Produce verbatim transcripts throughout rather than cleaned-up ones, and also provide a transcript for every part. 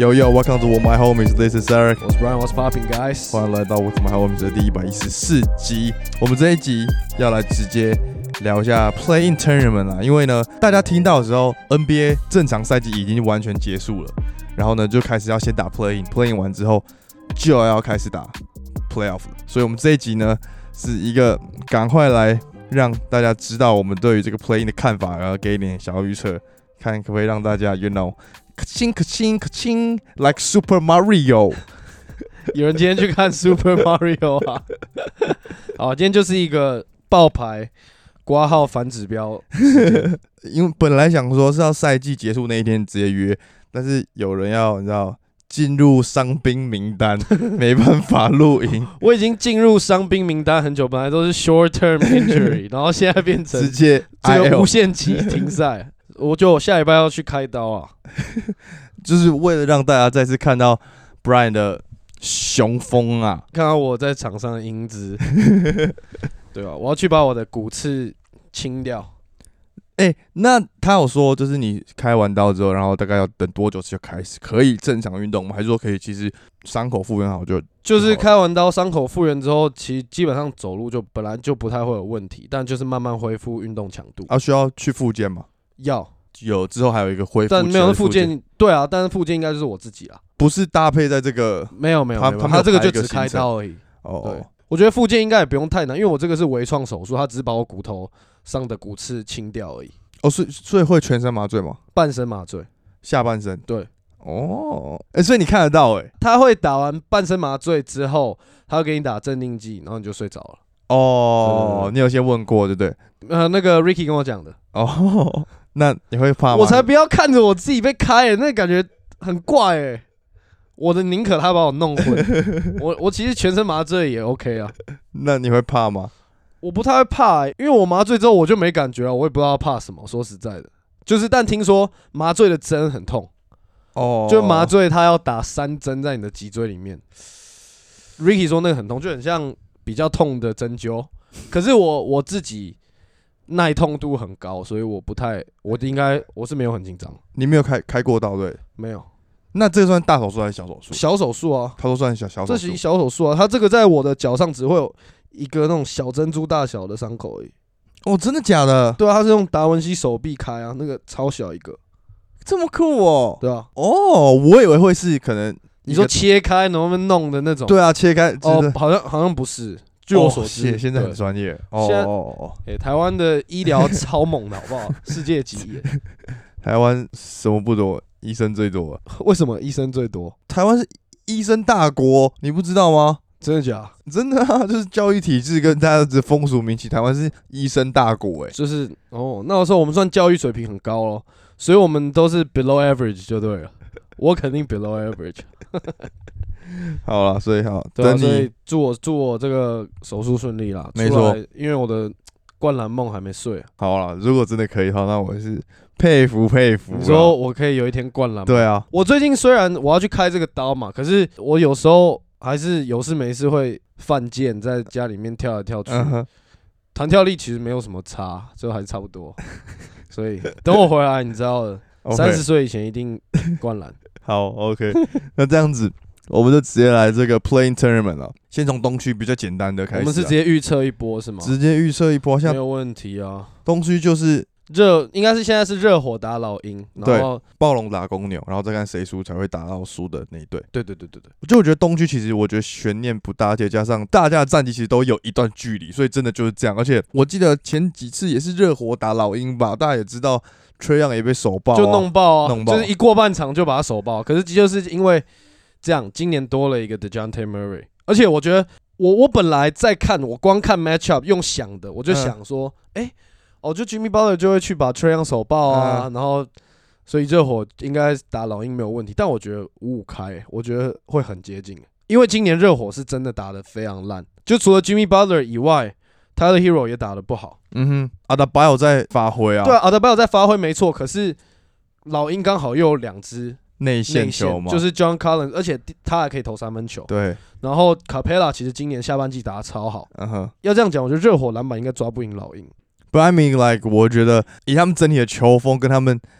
Yo yo, welcome to My Homies. This is Eric. 我是 Brian. What's popping, guys? 欢迎来到 With My Homies 的第一百一十四集。我们这一集要来直接聊一下 Play-in Tournament 啦，因为呢，大家听到的时候 ，N B A 正常赛季已经完全结束了，然后呢，就开始要先打 Play-in，Play-in 完之后就要开始打 Playoff 了。所以我们这一集呢，是一个赶快来让大家知道我们对于这个 Play-in 的看法，然后给一点小预测，看可不可以让大家 you know。可亲可亲可亲 ，like Super Mario。 有人今天去看 Super Mario 啊？好，今天就是一个爆牌挂号反指标。 因为本来想说是要赛季结束那一天直接约，但是有人要你知道进入伤兵名单，没办法录音。 我已经进入伤兵名单很久，本来都是 short term injury， 然后现在变成直接这个无限期停赛。我觉得我下礼拜要去开刀啊， 就是为了让大家再次看到 Brian 的雄风啊， 看到我在场上的英姿，对吧？我要去把我的骨刺清掉。 哎、欸，那他有说，就是你开完刀之后，然后大概要等多久就开始可以正常运动吗？还是说可以其实伤口复原好就就是开完刀伤口复原之后，其实基本上走路就本来就不太会有问题，但就是慢慢恢复运动强度。 啊，需要去复健吗？ 要有之后还有一个恢复， 但没有复健，对啊，但是复健应该就是我自己啦， 不是搭配在这个， 没有没有， 他他他这个就只开刀而已。 哦， 对，我觉得复健应该也不用太难，因为我这个是微创手术，他只是把我骨头上的骨刺清掉而已。 哦，所以所以会全身麻醉吗？ 半身麻醉， 下半身。 对， 哦，哎、欸，所以你看得到哎、欸， 他会打完半身麻醉之后，他会给你打镇定剂，然后你就睡着了。 哦， 对对对， 你有先问过对不对？ 呃，那个 Ricky 跟我讲的。 哦，那你会怕吗？ 我才不要看着我自己被开、欸，那感觉很怪哎、欸。我的宁可他把我弄昏，我我其实全身麻醉也 OK 啊。 那你会怕吗？ 我不太会怕、欸，因为我麻醉之后我就没感觉了，我也不知道怕什么。说实在的，就是但听说麻醉的针很痛，哦，就麻醉他要打三针在你的脊椎里面。Ricky 说那个很痛，就很像比较痛的针灸。可是我我自己耐痛度很高，所以我不太，我应该我是没有很紧张。 你没有开开过刀对？ 没有。 那这算大手术还是小手术？ 小手术啊， 他说算小小手术。 这是小手术啊，他这个在我的脚上只会有一个那种小珍珠大小的伤口而已。 哦，真的假的？ 对啊，他是用达文西手臂开啊，那个超小一个， 这么酷哦。 对啊。 哦，我以为会是可能你说切开能不能弄的那种？ 对啊，切开。 哦，好像好像不是。据我所知， 哦、现在很专业。哦现在哦、欸，台湾的医疗超猛的，好不好？世界级耶。 台湾什么不多？医生最多。 为什么医生最多？ 台湾是医生大国，你不知道吗？ 真的假？ 真的啊，就是教育体制跟大家的风俗民情，台湾是医生大国哎、欸。 就是哦，那时候我们算教育水平很高咯，所以我们都是 below average 就对了。我肯定 below average 。 好啦，所以好， 对啊， 等你所以祝我祝我这个手术顺利啦。 没错， 因为我的灌篮梦还没睡。 好啦，如果真的可以的话，那我是佩服佩服。 你说我可以有一天灌篮？ 对啊， 我最近虽然我要去开这个刀嘛，可是我有时候还是有事没事会犯贱，在家里面跳来跳去。弹、嗯、跳力其实没有什么差，最后还是差不多。所以等我回来，你知道的，三十岁以前一定灌篮。 好 ，OK， 那这样子。我们就直接来这个 Play-in Tournament 了，先从东区比较简单的开始。 我们是直接预测一波是吗？ 直接预测一波，像没有问题啊。 东区就是热，应该是现在是热火打老鹰，然后暴龙打公牛，然后再看谁输才会打到输的那一队。 对对对对对。 就我觉得东区其实我觉得悬念不大，而且加上大家的战绩其实都有一段距离，所以真的就是这样。而且我记得前几次也是热火打老鹰吧，大家也知道 Trae Young 也被手爆、啊， 就弄爆啊， 弄爆， 就是一过半场就把他手爆。可是就是因为这样，今年多了一个 DeJounte Murray， 而且我觉得我我本来在看，我光看 matchup 用想的，我就想说，哎、嗯欸，哦，就 Jimmy Butler 就会去把 Trae Young 手爆啊，嗯、然后所以热火应该打老鹰没有问题，但我觉得五五开，我觉得会很接近，因为今年热火是真的打得非常烂，就除了 Jimmy Butler 以外 ，Tyler Hero 也打得不好。 嗯哼，阿德巴有在发挥啊， 对啊，阿德巴有在发挥没错，可是老鹰刚好又有两支。 内线球嘛， 就是 John Collins， 而且他还可以投三分球。 对， 然后 Capella 其实今年下半季打得超好。 嗯哼， 要这样讲，我觉得热火篮板应该抓不赢老鹰。 But I mean like 我觉得以他们整体的球风跟他们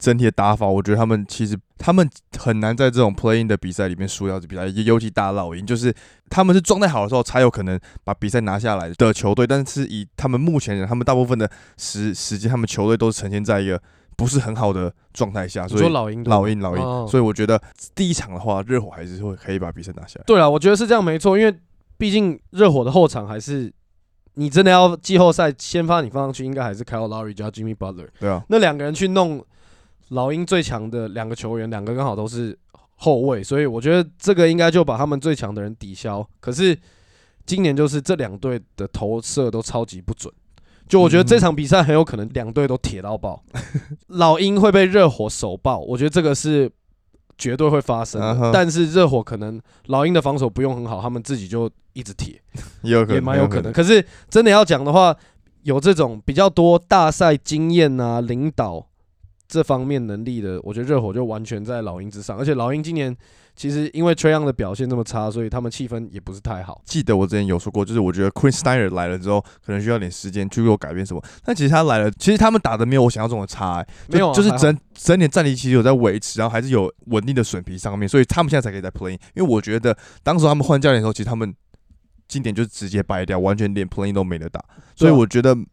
整体的打法，我觉得他们其实他们很难在这种 play-in 的比赛里面输掉这比赛，尤其打老鹰，就是他们是状态好的时候才有可能把比赛拿下来的球队，但是以他们目前他们大部分的时时间，他们球队都是呈现在一个不是很好的状态下，所以你说老鹰老鹰老鹰、 哦， 所以我觉得第一场的话，热火还是会可以把比赛拿下来。 对啦，我觉得是这样没错，因为毕竟热火的后场还是你真的要季后赛先发，你放上去应该还是 Kyle Lowry 加 Jimmy Butler， 对啊， 那两个人去弄老鹰最强的两个球员，两个刚好都是后卫，所以我觉得这个应该就把他们最强的人抵消。可是今年就是这两队的投射都超级不准。就我觉得这场比赛很有可能两队都铁到爆，老鹰会被热火手爆，我觉得这个是绝对会发生的。Uh-huh. 但是热火可能老鹰的防守不用很好，他们自己就一直铁，也蛮有可能。可是真的要讲的话，有这种比较多大赛经验啊、领导这方面能力的，我觉得热火就完全在老鹰之上。而且老鹰今年其实因为 Trae Young 的表现这么差，所以他们气氛也不是太好。 记得我之前有说过，就是我觉得 Quinn Snyder 来了之后，可能需要点时间去做改变什么。但其实他来了，其实他们打的没有我想象中的差、欸， 没有、啊， 就是整整点战力其实有在维持，然后还是有稳定的水平上面，所以他们现在才可以在 play。因为我觉得当时他们换教练的时候，其实他们今年就直接掰掉，完全连 play 都没得打。所以我觉得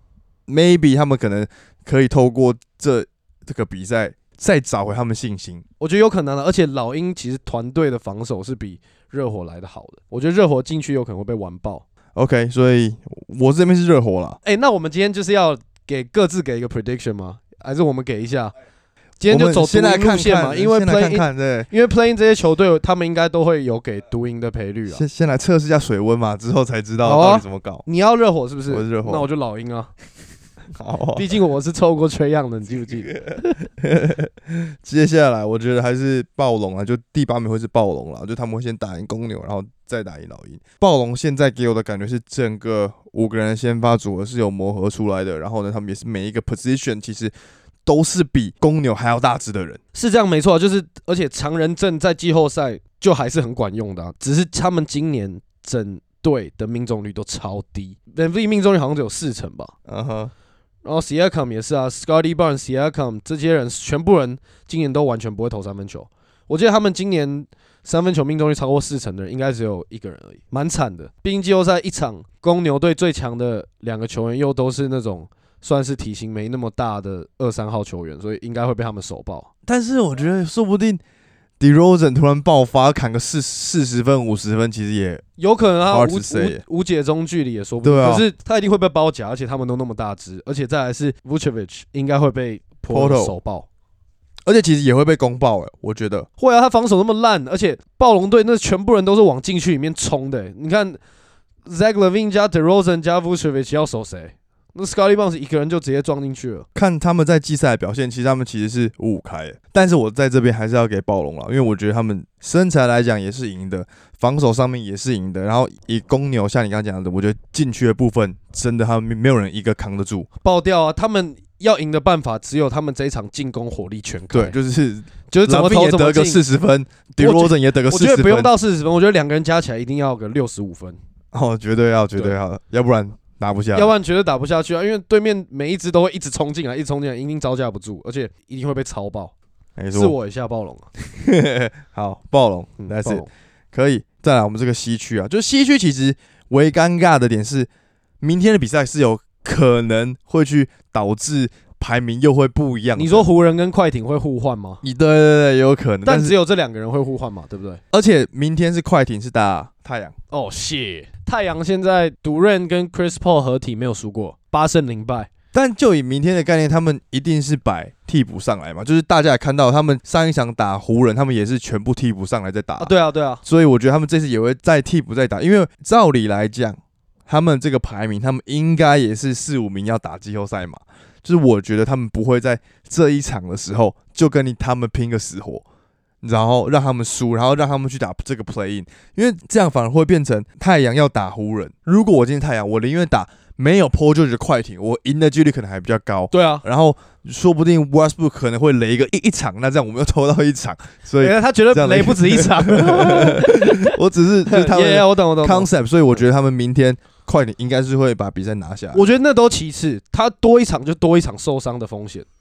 maybe 他们可能可以透过这这个比赛。再找回他们信心， 我觉得有可能的。而且老鹰其实团队的防守是比热火来的好的，我觉得热火进去有可能会被完爆。 OK， 所以我这边是热火啦。 哎、欸，那我们今天就是要给各自给一个 prediction 吗？还是我们给一下？今天就走独赢路线嘛，因为 play-in， 对， 因为 play-in 这些球队他们应该都会有给独赢的赔率啊。 先先来测试一下水温嘛，之后才知道到底怎么搞。 啊、你要热火是不是？ 我是热火， 那我就老鹰啊。 好， 毕竟我是抽过Trae Young的，你记不记得？ 接下来我觉得还是暴龙啊，就第八名会是暴龙啦，就他们会先打赢公牛，然后再打赢老鹰。暴龙现在给我的感觉是整个五个人的先发组合是有磨合出来的，然后呢，他们也是每一个 position 其实都是比公牛还要大只的人， 是这样没错，就是而且常人阵在季后赛就还是很管用的、啊，只是他们今年整队的命中率都超低 ，M V P 命中率好像只有四成吧。 嗯哼。 然后 Siakam 也是啊 ，Scottie Barnes、Siakam 这些人全部人今年都完全不会投三分球。我记得他们今年三分球命中率超过四成的人，应该只有一个人而已，蛮惨的。毕竟季后赛一场，公牛队最强的两个球员又都是那种算是体型没那么大的二三号球员，所以应该会被他们手爆。 但是我觉得说不定 DeRozan 突然爆发，砍个四四十分、五十分，其实也有可能他无无无解中距离也说不定。 啊、 可是他一定会被包夹，而且他们都那么大只，而且再来是 Vucevic 应该会被 Porto 手爆， 而且其实也会被攻爆哎、欸，我觉得会啊，他防守那么烂，而且暴龙队那全部人都是往禁区里面冲的、欸。你看 Zach LaVine 加 DeRozan 加 Vucevic 要守谁？那 Scottie Barnes 一个人就直接撞进去了。 看他们在季赛的表现，其实他们其实是五五开的，但是我在这边还是要给暴龙了，因为我觉得他们身材来讲也是赢的，防守上面也是赢的，然后以公牛像你刚刚讲的，我觉得禁区的部分真的他们没有人一个扛得住， 爆掉啊！他们要赢的办法只有他们这一场进攻火力全开， 对，就是就是怎么投怎么进， 也得个四十分 ，DeRozan 也得个四十分， 我觉得不用到四十分，我觉得两个人加起来一定要个六十五分， 哦，绝对要，绝对要，要不然。打不下， 要不然绝对打不下去啊！因为对面每一支都会一直冲进来，一直冲进来，一定招架不住，而且一定会被超爆。是我一下暴龙啊！ 好，暴龙，但是可以再来我们这个西区啊，就西区其实唯尴尬的点是，明天的比赛是有可能会去导致排名又会不一样。 你说湖人跟快艇会互换吗？ 对对对，有可能， 但只有这两个人会互换嘛，对不对？ 而且明天是快艇是打太阳。 哦，谢太阳现在独任跟 Chris Paul 合体没有输过，八胜零败。 但就以明天的概念，他们一定是摆替补上来嘛，就是大家也看到他们上一场打湖人，他们也是全部替补上来在打、 啊。对啊，对啊。 所以我觉得他们这次也会再替补再打，因为照理来讲，他们这个排名，他们应该也是四五名要打季后赛嘛。就是我觉得他们不会在这一场的时候就跟你他们拼个死活，然后让他们输，然后让他们去打这个 play in， 因为这样反而会变成太阳要打湖人。如果我今天太阳，我宁愿打没有 Paul George 的快艇，我赢的几率可能还比较高。 对啊， 然后说不定 Westbrook 可能会雷一个一一场，那这样我们又抽到一场，所以、 欸、他觉得雷不止一场。 我只是就是他们 yeah, 我懂我懂 concept， 所以我觉得他们明天快艇应该是会把比赛拿下来。 我觉得那都其次，他多一场就多一场受伤的风险。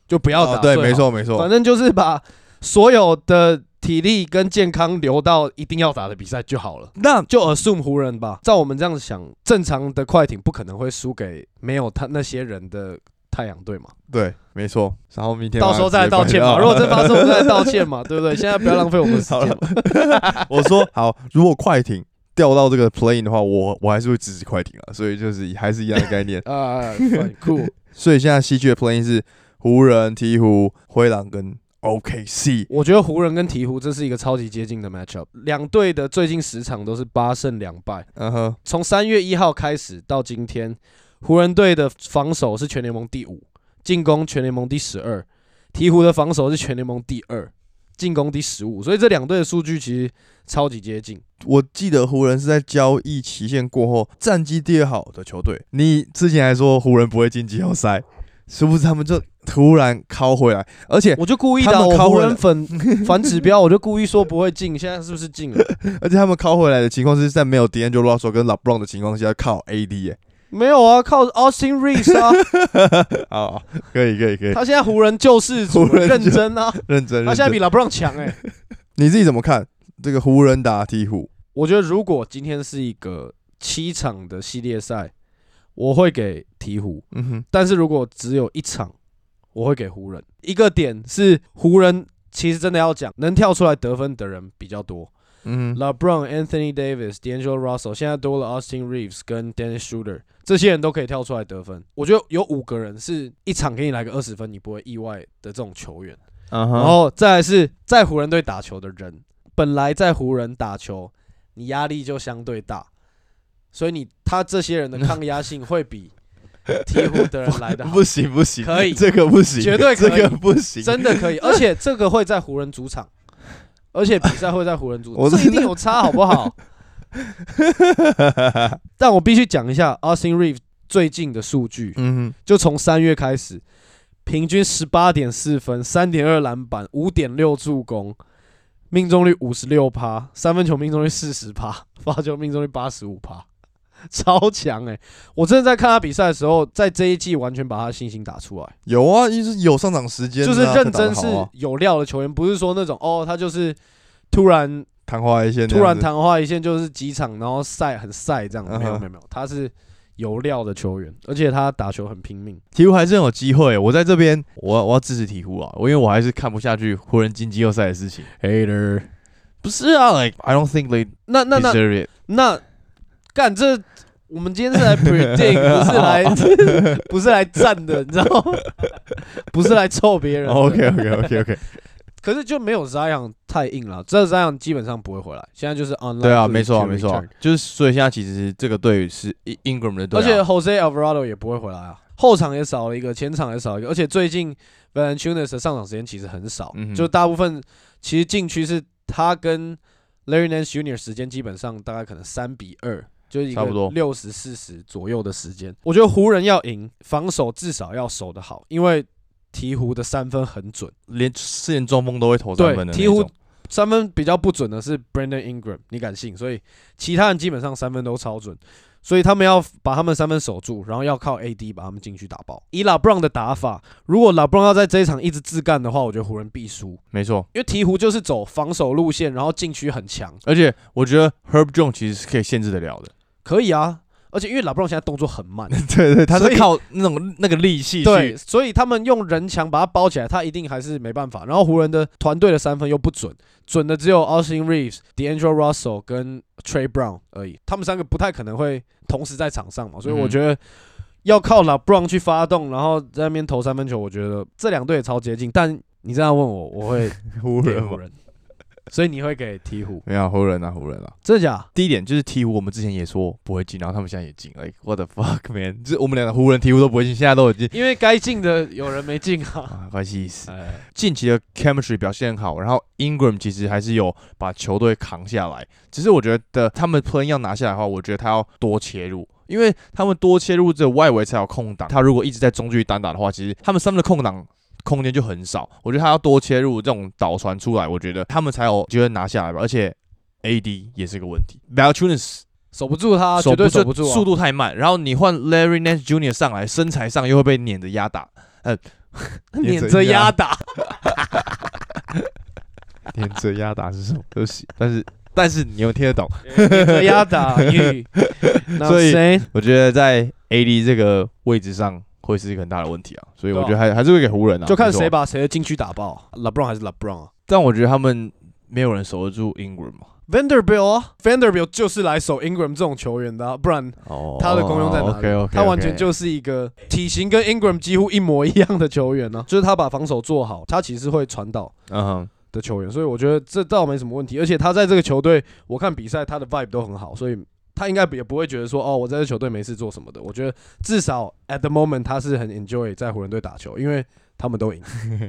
就不要打、 哦。对，没错没错， 反正就是把所有的体力跟健康留到一定要打的比赛就好了。 那就 assume 湖人吧，照我们这样想，正常的快艇不可能会输给没有他那些人的太阳队嘛。 对，没错。然后明天到时候再来道歉嘛，如果真发生，我们再来道歉嘛，对不对？现在不要浪费我们时间嘛。 我说好，如果快艇掉到这个 play-in 的话，我我还是会支持快艇啊，所以就是还是一样的概念啊，酷。 所以现在西区的 play-in 是湖人、鹈鹕、灰狼跟 O K C。 我觉得湖人跟鹈鹕这是一个超级接近的 matchup， 两队的最近十场都是八胜两败。嗯哼，从三月一号开始到今天，湖人队的防守是全联盟第五，进攻全联盟第十二，鹈鹕的防守是全联盟第二，进攻第十五，所以这两队的数据其实超级接近。 我记得湖人是在交易期限过后战绩第二好的球队，你之前还说湖人不会进季后赛，是不是他们就突然靠回来？而且我就故意的，我湖人粉反指标，我就故意说不会进，现在是不是进了？ 而且他们靠回来的情况是在没有 D'Angelo Russell 跟 LeBron 的情况下靠 A D 耶、欸。 没有啊，靠 Austin Reeves 啊。 好，可以可以可以。 他现在湖人救世主，认真啊， 认真。 他现在比 LeBron 强哎、欸。 你自己怎么看这个湖人打鹈鹕？ 我觉得如果今天是一个七场的系列赛，我会给鹈鹕。嗯哼。但是如果只有一场，我会给湖人。一个点是湖人其实真的要讲，能跳出来得分的人比较多。嗯 ，LeBron、Anthony Davis、D'Angelo Russell， 现在多了 Austin Reeves 跟 Dennis Schroeder， 这些人都可以跳出来得分。我觉得有五个人是一场给你来个二十分，你不会意外的这种球员。Uh huh. 然后再来是在湖人队打球的人，本来在湖人打球，你压力就相对大，所以你他这些人的抗压性会比鹈鹕的人来的好。 不行不行， 可以， 这个不行， 绝对可以， 这个不行， 真的可以，而且这个会在湖人主场。而且比赛会在湖人主场，这一定有差，好不好？但我必须讲一下 Austin Reeves 最近的数据，嗯、就从三月开始，平均 十八点四 分 ，三点二 篮板 ，五点六 助攻，命中率 百分之五十六， 三分球命中率 百分之四十， 罚球命中率 百分之八十五， 超强哎、欸！我真的在看他比赛的时候，在这一季完全把他信心打出来。 有啊，就是有上场时间、啊， 就是认真是有料的球员，不是说那种哦，他就是突然昙花一现， 突然昙花一现就是几场，然后晒很晒这样。没有没有没有，他是有料的球员，而且他打球很拼命。 鹈鹕还是很有机会。我在这边，我我要支持鹈鹕啊，因为我还是看不下去湖人进季后赛的事情。 Hater， 不是啊 ，like I don't think they 那那那 deserve it。 那干这，我们今天是来 predict， 不是来不是来站的，你知道吗？不是来臭别人。 OK OK OK OK。 可是就没有 Zion 太硬了，这 Zion 基本上不会回来。现在就是 online。 对啊，没错啊，没错啊，就是所以现在其实这个队是 Ingram 的队、啊， 而且 Jose Alvarado 也不会回来啊。后场也少了一个，前场也少一个，而且最近 Valanciunas 的上场时间其实很少，嗯、就大部分其实禁区是他跟 Larry Nance Junior 时间基本上大概可能三比二。就是一个六十四十左右的时间，我觉得湖人要赢，防守至少要守得好，因为鹈鹕的三分很准， 连四连中锋都会投三分的那种。 对，鹈鹕三分比较不准的是 Brandon Ingram， 你敢信？所以其他人基本上三分都超准，所以他们要把他们三分守住，然后要靠 A D 把他们禁区打爆。以 LeBron 的打法，如果 LeBron 要在这一场一直自干的话，我觉得湖人必输。 没错， 因为鹈鹕就是走防守路线，然后禁区很强， 而且我觉得 Herb Jones 其实是可以限制得了的。 可以啊，而且因为 LeBron 现在动作很慢， 对对，他是靠那种那个力气去， 对，所以他们用人墙把他包起来，他一定还是没办法。然后湖人的团队的三分又不准，准的只有 Austin Reeves、D'Angelo Russell 跟 Trey Brown 而已，他们三个不太可能会同时在场上嘛，所以我觉得要靠 LeBron 去发动，然后在那边投三分球，我觉得这两队也超接近。但你这样问我，我会湖人湖人。所以你会给鹈鹕？ 没有湖人啊，湖人啊， 真的假？ 第一点就是鹈鹕，我们之前也说不会进，然后他们现在也进，哎、like, ，what the fuck man！ 就是我们两个湖人、鹈鹕都不会进，现在都有进， 因为该进的有人没进啊， 啊关系死。近期的 chemistry 表现很好，然后 Ingram 其实还是有把球队扛下来，只是我觉得他们 play 要拿下来的话，我觉得他要多切入。因为他们多切入这外围才有空档，他如果一直在中距离单打的话，其实他们三分的空档空间就很少，我觉得他要多切入这种导传出来，我觉得他们才有机会拿下来吧。而且 A D 也是个问题 ，Valanciunas 守不住他，绝对守不住、啊， 速度太慢。然后你换 Larry Nance Junior 上来，身材上又会被碾着压打。呃， 碾着压打， 碾着压打是什么？对不起，但是但是你又听得懂， 碾着压打。 所以我觉得在 A D 这个位置上会是一个很大的问题啊，所以我觉得还还是会给湖人啊， 就看谁把谁的禁区打爆 ，LeBron 还是 LeBron 啊？ 但我觉得他们没有人守得住 Ingram 嘛。 Vanderbilt 啊 ，Vanderbilt 就是来守 Ingram 这种球员的、啊，不然他的功用在哪里？ oh, okay, okay, okay. 他完全就是一个体型跟 Ingram 几乎一模一样的球员呢、啊，就是他把防守做好，他其实会传导的球员，所以我觉得这倒没什么问题。而且他在这个球队，我看比赛他的 vibe 都很好，所以他应该也不会觉得说哦，我在这球队没事做什么的。我觉得至少 at the moment 他是很 enjoy 在湖人队打球，因为他们都赢。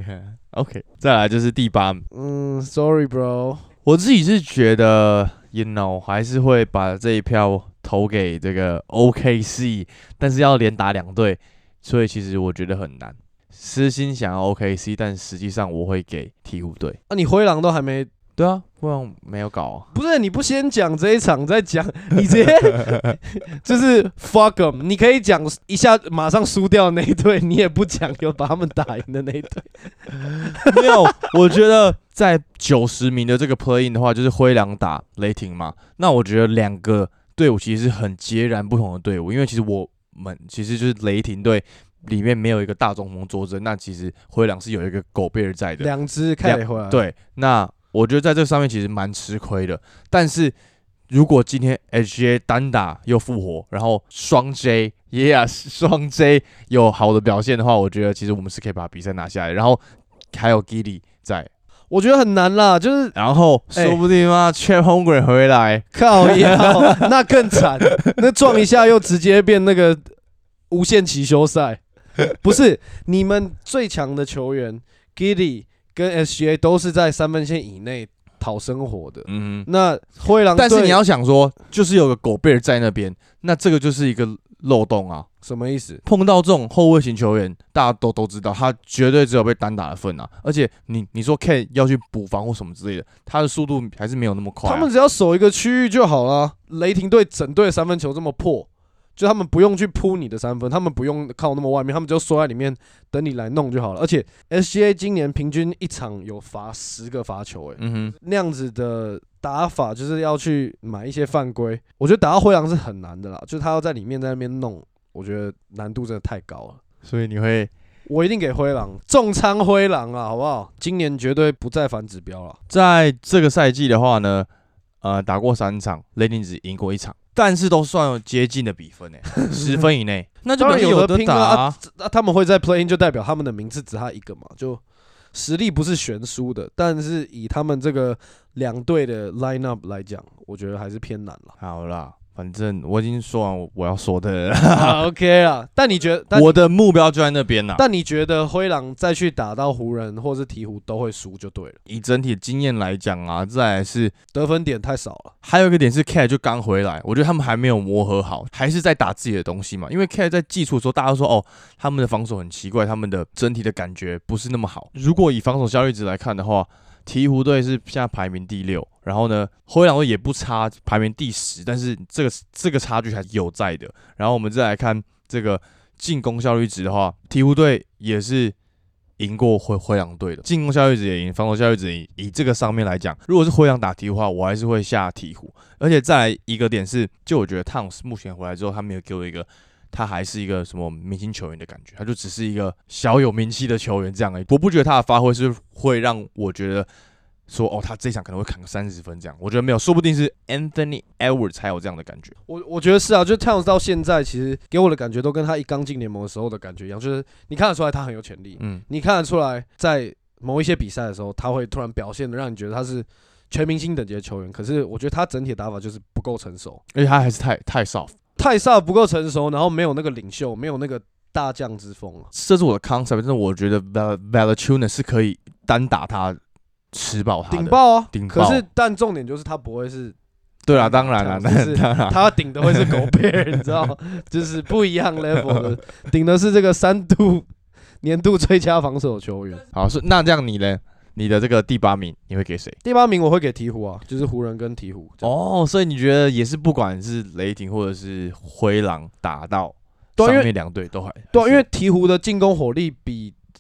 OK， 再来就是第八， 嗯 ，Sorry bro。 我自己是觉得 ，you know， 还是会把这一票投给这个 O K C， 但是要连打两队，所以其实我觉得很难。私心想要 O K C， 但实际上我会给鹈鹕队。 啊，你灰狼都还没？ 对啊，灰狼没有搞啊。 不是，你不先讲这一场再讲，你直接就是 fuck them。你可以讲一下马上输掉的那一队，你也不讲有把他们打赢的那一队。 没有，我觉得在九十名的这个 play in 的话，就是灰狼打雷霆嘛。那我觉得两个队伍其实是很截然不同的队伍，因为其实我们其实就是雷霆队里面没有一个大中锋坐镇，那其实灰狼是有一个狗贝尔在的， 两只开雷回来。 对，那我觉得在这上面其实蛮吃亏的。但是如果今天 H G A 单打又复活，然后双 J， yeah， 双 J 有好的表现的话，我觉得其实我们是可以把比赛拿下来。然后还有 Giddy 在。 我觉得很难啦，就是然后说不定嘛 ，Chet Holmgren 回来， 靠腰，那更惨，那撞一下又直接变那个无限期休赛。不是，你们最强的球员 Giddy 跟 S G A 都是在三分线以内讨生活的。嗯，那灰狼， 但是你要想说，就是有个狗贝尔在那边，那这个就是一个漏洞啊。 什么意思？ 碰到这种后卫型球员，大家都都知道，他绝对只有被单打的份啊。而且你你说 K 要去补防或什么之类的，他的速度还是没有那么快、啊。 他们只要守一个区域就好了。雷霆队整队三分球这么破，就他们不用去扑你的三分，他们不用靠那么外面，他们只要缩在里面等你来弄就好了。而且 S G A 今年平均一场有罚十个罚球、欸，哎、嗯，那样子的打法就是要去买一些犯规。我觉得打到灰狼是很难的啦，就是他要在里面在那边弄。我觉得难度真的太高了， 所以你会， 我一定给灰狼重仓灰狼啊，好不好？今年绝对不再反指标了。 在这个赛季的话呢，呃，打过三场，雷霆只赢过一场，但是都算有接近的比分诶、欸，十分以内，那就有得打啊。 啊啊他们会在 play in 就代表他们的名次只他一个嘛，就实力不是悬殊的，但是以他们这个两队的 line up 来讲，我觉得还是偏难了。 好啦。反正我已经说完我要说的了、 啊、，OK 啦。但你觉得， 我的目标就在那边啦。 但你觉得灰狼再去打到湖人或是鹈鹕都会输就对了。 以整体经验来讲啊，再来是得分点太少了。 还有一个点是 Cat 就刚回来，我觉得他们还没有磨合好，还是在打自己的东西嘛。因为 Cat 在基础的时候，大家都说哦，他们的防守很奇怪，他们的整体的感觉不是那么好。如果以防守效率值来看的话，鹈鹕队是现在排名第六，然后呢，灰狼队也不差，排名第十，但是这个这个差距还是有在的。然后我们再来看这个进攻效率值的话，鹈鹕队也是赢过灰灰狼队的，进攻效率值也赢，防守效率值也赢。以这个上面来讲，如果是灰狼打鹈鹕的话，我还是会下鹈鹕。而且再来一个点是，就我觉得 Towns 目前回来之后，他没有给我一个。他还是一个什么明星球员的感觉，他就只是一个小有名气的球员这样而已。我不觉得他的发挥是会让我觉得说，哦，他这一场可能会砍个三十分这样。我觉得没有，说不定是 Anthony Edwards 才有这样的感觉。 我我觉得是啊，就 Towns 到现在其实给我的感觉都跟他一刚进联盟的时候的感觉一样，就是你看得出来他很有潜力，嗯，你看得出来在某一些比赛的时候，他会突然表现的让你觉得他是全明星等级的球员。可是我觉得他整体的打法就是不够成熟， 而且他还是太太 soft。 太萨不够成熟，然后没有那个领袖，没有那个大将之风啊。 这是我的 concept， 但是我觉得 Valanciunas 是可以单打他吃爆他的， 顶爆啊！ 顶爆。 可是但重点就是他不会是， 对啦，当然啦， 就是他顶的会是狗贝尔，你知道，就是不一样 level 的，顶的是这个三度年度最佳防守球员。 好，是那这样你呢？你的这个第八名你会给谁？ 第八名我会给鹈鹕啊，就是湖人跟鹈鹕。 哦，所以你觉得也是不管是雷霆或者是灰狼打到上面两队都还对、啊，因为鹈鹕的进攻火力比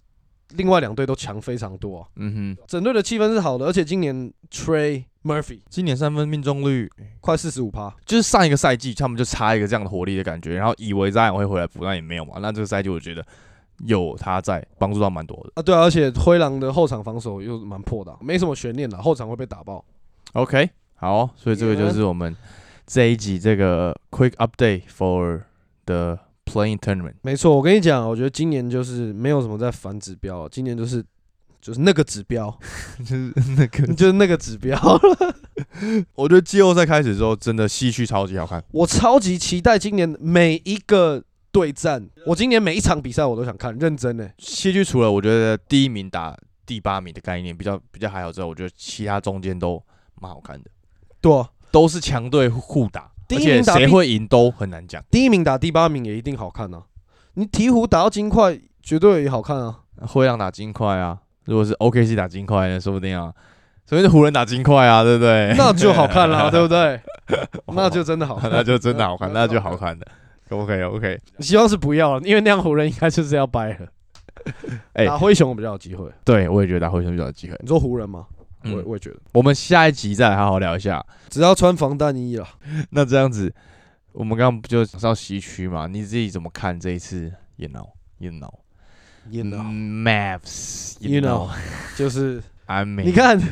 另外两队都强非常多、啊。 嗯哼， 整队的气氛是好的，而且今年 Trey Murphy 今年三分命中率快四十五趴， 就是上一个赛季他们就差一个这样的火力的感觉，然后以为Zion会回来补，那也没有嘛。那这个赛季我觉得有他在，帮助到蛮多的啊。对啊，而且灰狼的后场防守又蛮破的、啊，没什么悬念啦，后场会被打爆。 OK， 好，所以这个就是我们这一集这个 quick update for the playing tournament。 没错，我跟你讲，我觉得今年就是没有什么在反指标，今年就是就是那个指标， 就是那个就是那个指标。 我觉得季后赛开始之后，真的西区超级好看。 我超级期待今年每一个对战，我今年每一场比赛我都想看，认真的、欸。 西区除了我觉得第一名打第八名的概念比较比较还好之后，我觉得其他中间都蛮好看的。 对、啊， 都是强队互打， 第一名打而且谁会赢都很难讲。 第一名打第八名也一定好看啊！你鹈鹕打到金块，绝对也好看啊！ 灰狼打金块啊，如果是 O K C 打金块呢，说不定啊，所以是湖人打金块啊，对不对？ 那就好看啦，对不对？那就真的好看， 那就真的好看，那就好看的。OK OK， 希望是不要了，因为那样湖人应该就是要掰了。欸、打灰熊比较有机会， 对我也觉得打灰熊比较有机会。 你说湖人吗？ 嗯、 我我也觉得。 我们下一集再来好好聊一下， 只要穿防弹衣了。 那这样子，我们刚刚不就讲到西区嘛？你自己怎么看这一次 ？You know, you know, you know, Mavs, you, you know, know， 就是 I mean， 你看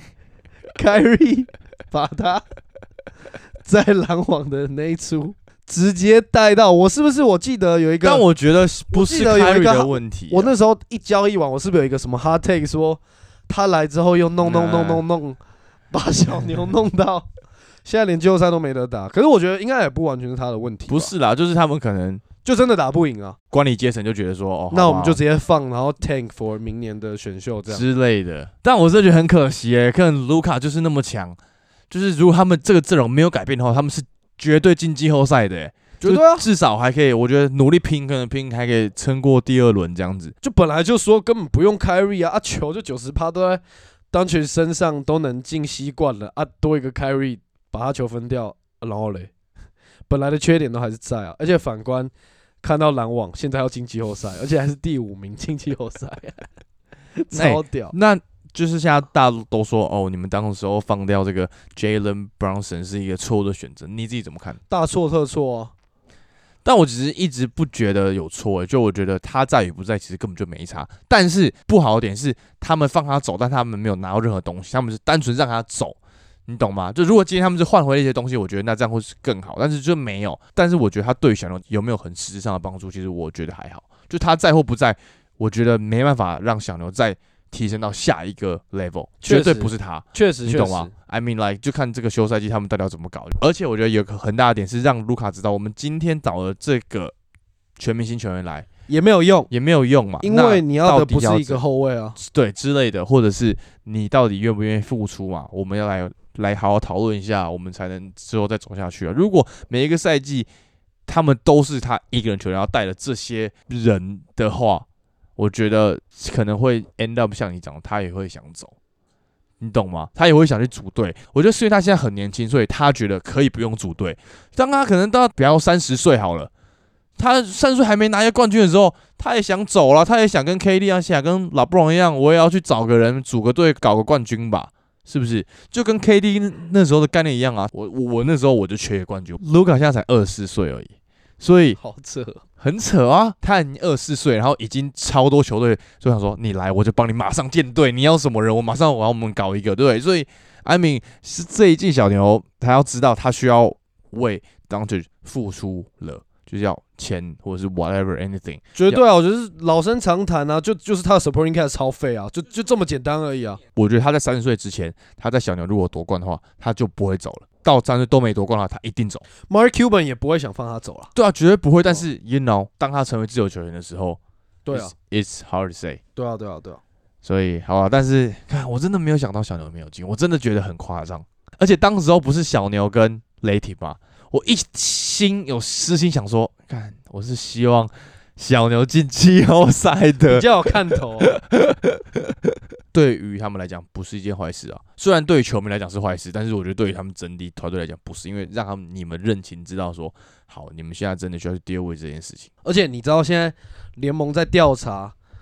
，Kyrie 把他在篮网的那一出直接带到，我是不是？我记得有一个， 但我觉得不是 Kyrie 的问题、啊。 我那时候一交易完，我是不是有一个什么 hot take 说？他来之后又弄弄弄弄弄，把小牛弄到现在连季后赛都没得打。可是我觉得应该也不完全是他的问题。 不是啦，就是他们可能就真的打不赢啊。 管理阶层就觉得说，哦， 那我们就直接放，然后 tank for 明年的选秀这样之类的。但我真的觉得很可惜诶、欸，可能卢卡就是那么强，就是如果他们这个阵容没有改变的话，他们是绝对进季后赛的、欸。 绝对啊， 至少还可以，我觉得努力拼，可能拼还可以撑过第二轮这样子。 就本来就说根本不用 Kyrie 啊，啊球就九十趴都在当权身上都能进习惯了啊，多一个 Kyrie 把他球分掉，然后嘞，本来的缺点都还是在啊。而且反观看到篮网现在要进季后赛，而且还是第五名进季后赛，超屌、欸。 那就是现在大家都说哦，你们当时候放掉这个 Jalen Brunson 是一个错误的选择，你自己怎么看？ 大错特错啊！ 但我只是一直不觉得有错、欸，就我觉得他在与不在其实根本就没差。但是不好的点是，他们放他走，但他们没有拿到任何东西，他们是单纯让他走，你懂吗？就如果今天他们是换回了一些东西，我觉得那这样会是更好。但是就没有。但是我觉得他对小牛有没有很实质上的帮助，其实我觉得还好。就他在或不在，我觉得没办法让小牛再提升到下一个 level， 绝对不是他， 确实， 你懂吗 ？I mean like 就看这个休赛季他们到底要怎么搞。而且我觉得有个很大的点是让卢卡知道，我们今天找了这个全明星球员来也没有用， 也没有用嘛， 因为你要的不是一个后卫啊， 对之类的，或者是你到底愿不愿意付出嘛？我们要来来好好讨论一下，我们才能之后再走下去啊。如果每一个赛季他们都是他一个人球员要带了这些人的话，我觉得可能会 end up 像你讲的，他也会想走，你懂吗？他也会想去组队。我觉得是因为他现在很年轻，所以他觉得可以不用组队。当他可能到比方三十岁好了，他三十岁还没拿下冠军的时候，他也想走了，他也想跟 K D 啊，想跟拉布朗一样，我也要去找个人组个队搞个冠军吧。是不是就跟 K D 那时候的概念一样啊？我我我那时候我就缺冠军，卢卡现在才二十四岁而已，所以好扯， 很扯啊！他已经二十四岁，然后已经超多球队就想说你来，我就帮你马上建队，你要什么人，我马上我要我们搞一个，对不对？所以 I mean 是这一季小牛，他要知道他需要为 Doncic 付出了。就是要钱或者是 whatever anything， 绝对啊，我觉得是老生常谈啊，就就是他的 supporting cast 超废啊，就就这么简单而已啊。 我觉得他在三十岁之前，他在小牛如果夺冠的话，他就不会走了。到三十岁都没夺冠的话，他一定走。 Mark Cuban 也不会想放他走了。 对啊，绝对不会。但是 you know， 当他成为自由球员的时候， 对啊 ，it's, it's hard to say。 对啊，对啊，对啊。 所以好啊，但是看我真的没有想到小牛没有进，我真的觉得很夸张。而且当时候不是小牛跟雷霆吗？我一心有私心想说，看我是希望小牛进季后赛的， 比较有看头、啊。 对于他们来讲不是一件坏事啊，虽然对于球迷来讲是坏事，但是我觉得对于他们整体团队来讲不是，因为让他们你们认清知道说，好，你们现在真的需要去 deal with 这件事情。 而且你知道现在联盟在调查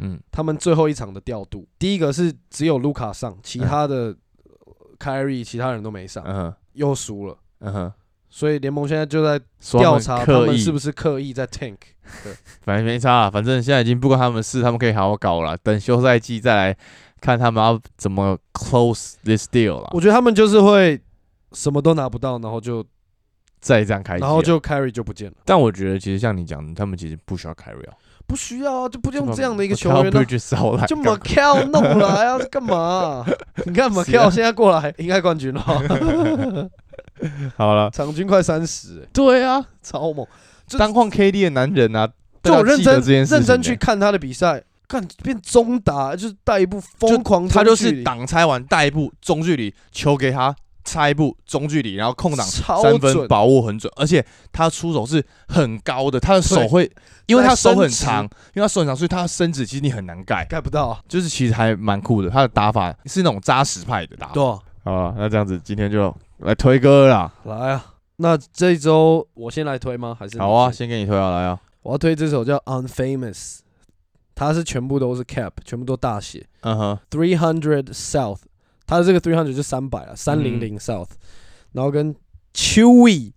嗯，他们最后一场的调度，第一个是只有卢卡上，其他的 Kyrie 其他人都没上，嗯、又输了，嗯哼。所以联盟现在就在调查他们是不是刻意在 tank。对， 反正没差啦，反正现在已经不关他们的事，他们可以好好搞了。等休赛季再来看他们要怎么 close this deal 啦。 我觉得他们就是会什么都拿不到，然后就再这样开机， 然后就 Kyrie 就不见了。 但我觉得其实像你讲的，他们其实不需要 Kyrie 啊。 不需要啊，就不用这样的一个球员了， 就 Macau 弄来啊，干嘛、啊？你看 Macau 现在过来应该冠军了。 好了， 场均快三十、欸， 对啊， 超猛！ 当换 K D 的男人啊， 就我认真认真去看他的比赛，看变中打，就是带一步疯狂， 他就是挡拆完带一步中距离，球给他拆一步中距离，然后空档三分把握很准，而且他出手是很高的，他的手会，因为他手很长，因为他手很长，所以他的身子其实你很难盖， 盖不到、啊， 就是其实还蛮酷的。他的打法是那种扎实派的打法。 对、啊， 好啊，那这样子今天就来推歌啦， 来啊！那这一周我先来推吗？还是好啊，先给你推啊，来啊！ 我要推这首叫《Unfamous》，它是全部都是 cap， 全部都大写。嗯哼 ，three hundred South， 它的这个three hundred 就三百啊，三百 South，、嗯、然后跟 Chewy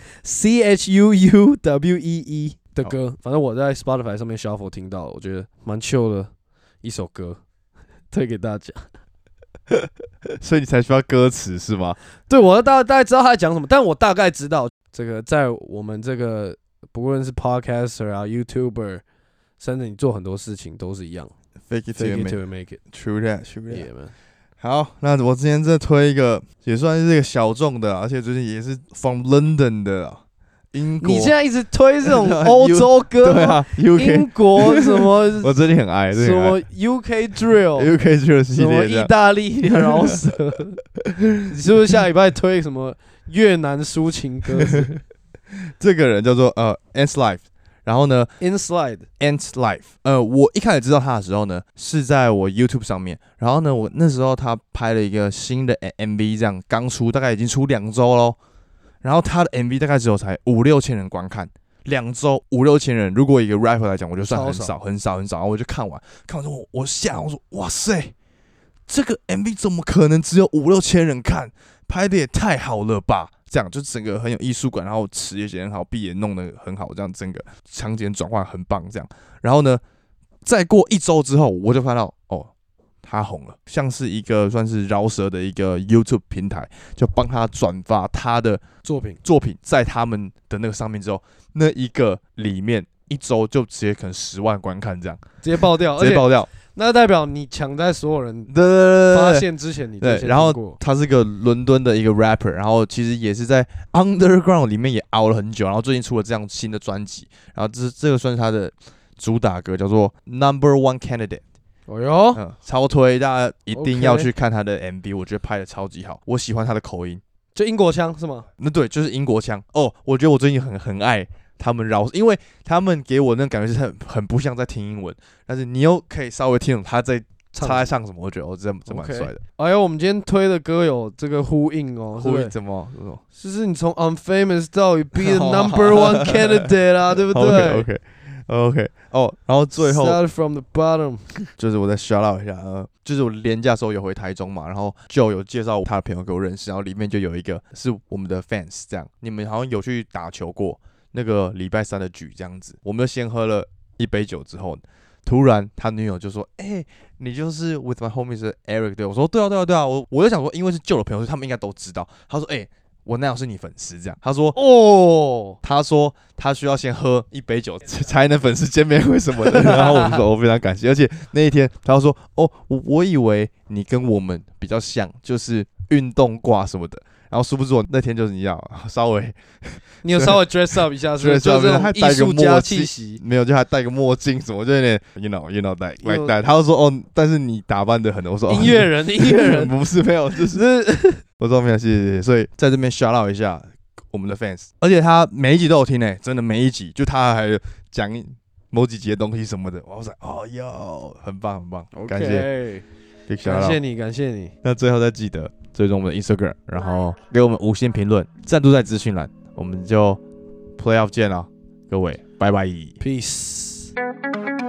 C H U U W E E 的歌，反正我在 Spotify 上面 shuffle 听到，我觉得蛮 chill 的一首歌，推给大家。 所以你才需要歌词是吗？ 对，我大大概知道他在讲什么，但我大概知道这个在我们这个不论是 podcaster 啊 YouTuber， 甚至你做很多事情都是一样 ，fake it till you make it，true that，true that。 Yeah, man. 好，那我之前再推一个，也算是这个小众的，而且最近也是 from London 的。英国， 你现在一直推这种欧洲歌， 对啊 ，U K 英国什么？ 我最近很爱， 什么 U K Drill，U K Drill 系列， 什么意大利饶舌，你是不是下礼拜推什么越南抒情歌？ 这个人叫做呃 Ants Life， 然后呢 Inside Ants Life， 呃，我一开始知道他的时候呢，是在我 YouTube 上面，然后呢，我那时候他拍了一个新的 M V， 这样刚出，大概已经出两周咯。然后他的 M V 大概只有才五六千人观看，两周五六千人，如果以一个 rapper 来讲，我就算很少很少很少。然后我就看完，看完之后我吓，我说哇塞，这个 M V 怎么可能只有五六千人看？拍的也太好了吧！这样就整个很有艺术感，然后词也写得很好，B也弄得很好，这样整个场景转换很棒，这样。然后呢，再过一周之后，我就看到哦。他红了，像是一个算是饶舌的一个 YouTube 平台，就帮他转发他的作品， 作品在他们的那个上面之后，那一个里面一周就直接可能十万观看，这样直接爆掉， 直接爆掉。 那代表你抢在所有人发现之前，你就先对。然后他是个伦敦的一个 rapper， 然后其实也是在 Underground 里面也熬了很久，然后最近出了这样新的专辑，然后这这个算是他的主打歌，叫做 Number One Candidate。 哦哟、 嗯，超推，大家一定要去看他的 M V， 我觉得拍的超级好，我喜欢他的口音， 就英国腔是吗？ 那对，就是英国腔哦。我觉得我最近很很爱他们饶，因为他们给我那感觉是很很不像在听英文，但是你又可以稍微听懂他在他在唱什么，我觉得哦，真真蛮帅的。 哎呦，我们今天推的歌有这个呼应哦， 呼应怎么？ 就是你从 Unfamous 到 Be the Number One Candidate 啊，对不对 ？OK OK OK 哦，然后最后 Start from the bottom， 就是我再 shout out 一下，呃，就是我连假的时候有回台中嘛，然后就有介绍他的朋友给我认识，然后里面就有一个是我们的 fans， 这样，你们好像有去打球过那个礼拜三的局这样子，我们就先喝了一杯酒之后，突然他女友就说：“哎、欸，你就是 with my homies 的 Eric 对？”我说：“对啊，对啊，对啊。”我我就想说，因为是旧的朋友，所以他们应该都知道。他说：“哎、欸。”我那样是你粉丝，这样他说哦，他说他需要先喝一杯酒才能粉丝见面会什么的，然后我就说我非常感谢，而且那一天他说哦，我我以为你跟我们比较像，就是运动挂什么的，然后殊不知我那天就是你要稍微， 你有稍微 dress up 一下，是就是艺术家气息， 没有，就还戴个墨镜什么，就有点 you know you know that like that， 他就说哦，但是你打扮的很，我说音乐人，音乐人不是没有，就是我说没有，谢谢谢谢，所以在这边 shout out 一下我们的 fans， 而且他每一集都有听诶、欸，真的每一集，就他还讲某几集的东西什么的，我说哦哟，很棒很棒， okay, 感谢， 感谢你，感谢你。 那最后再记得追踪我们的 Instagram， 然后给我们五星评论，赞助在资讯栏，我们就 Playoff 见了，各位，拜拜 ，Peace。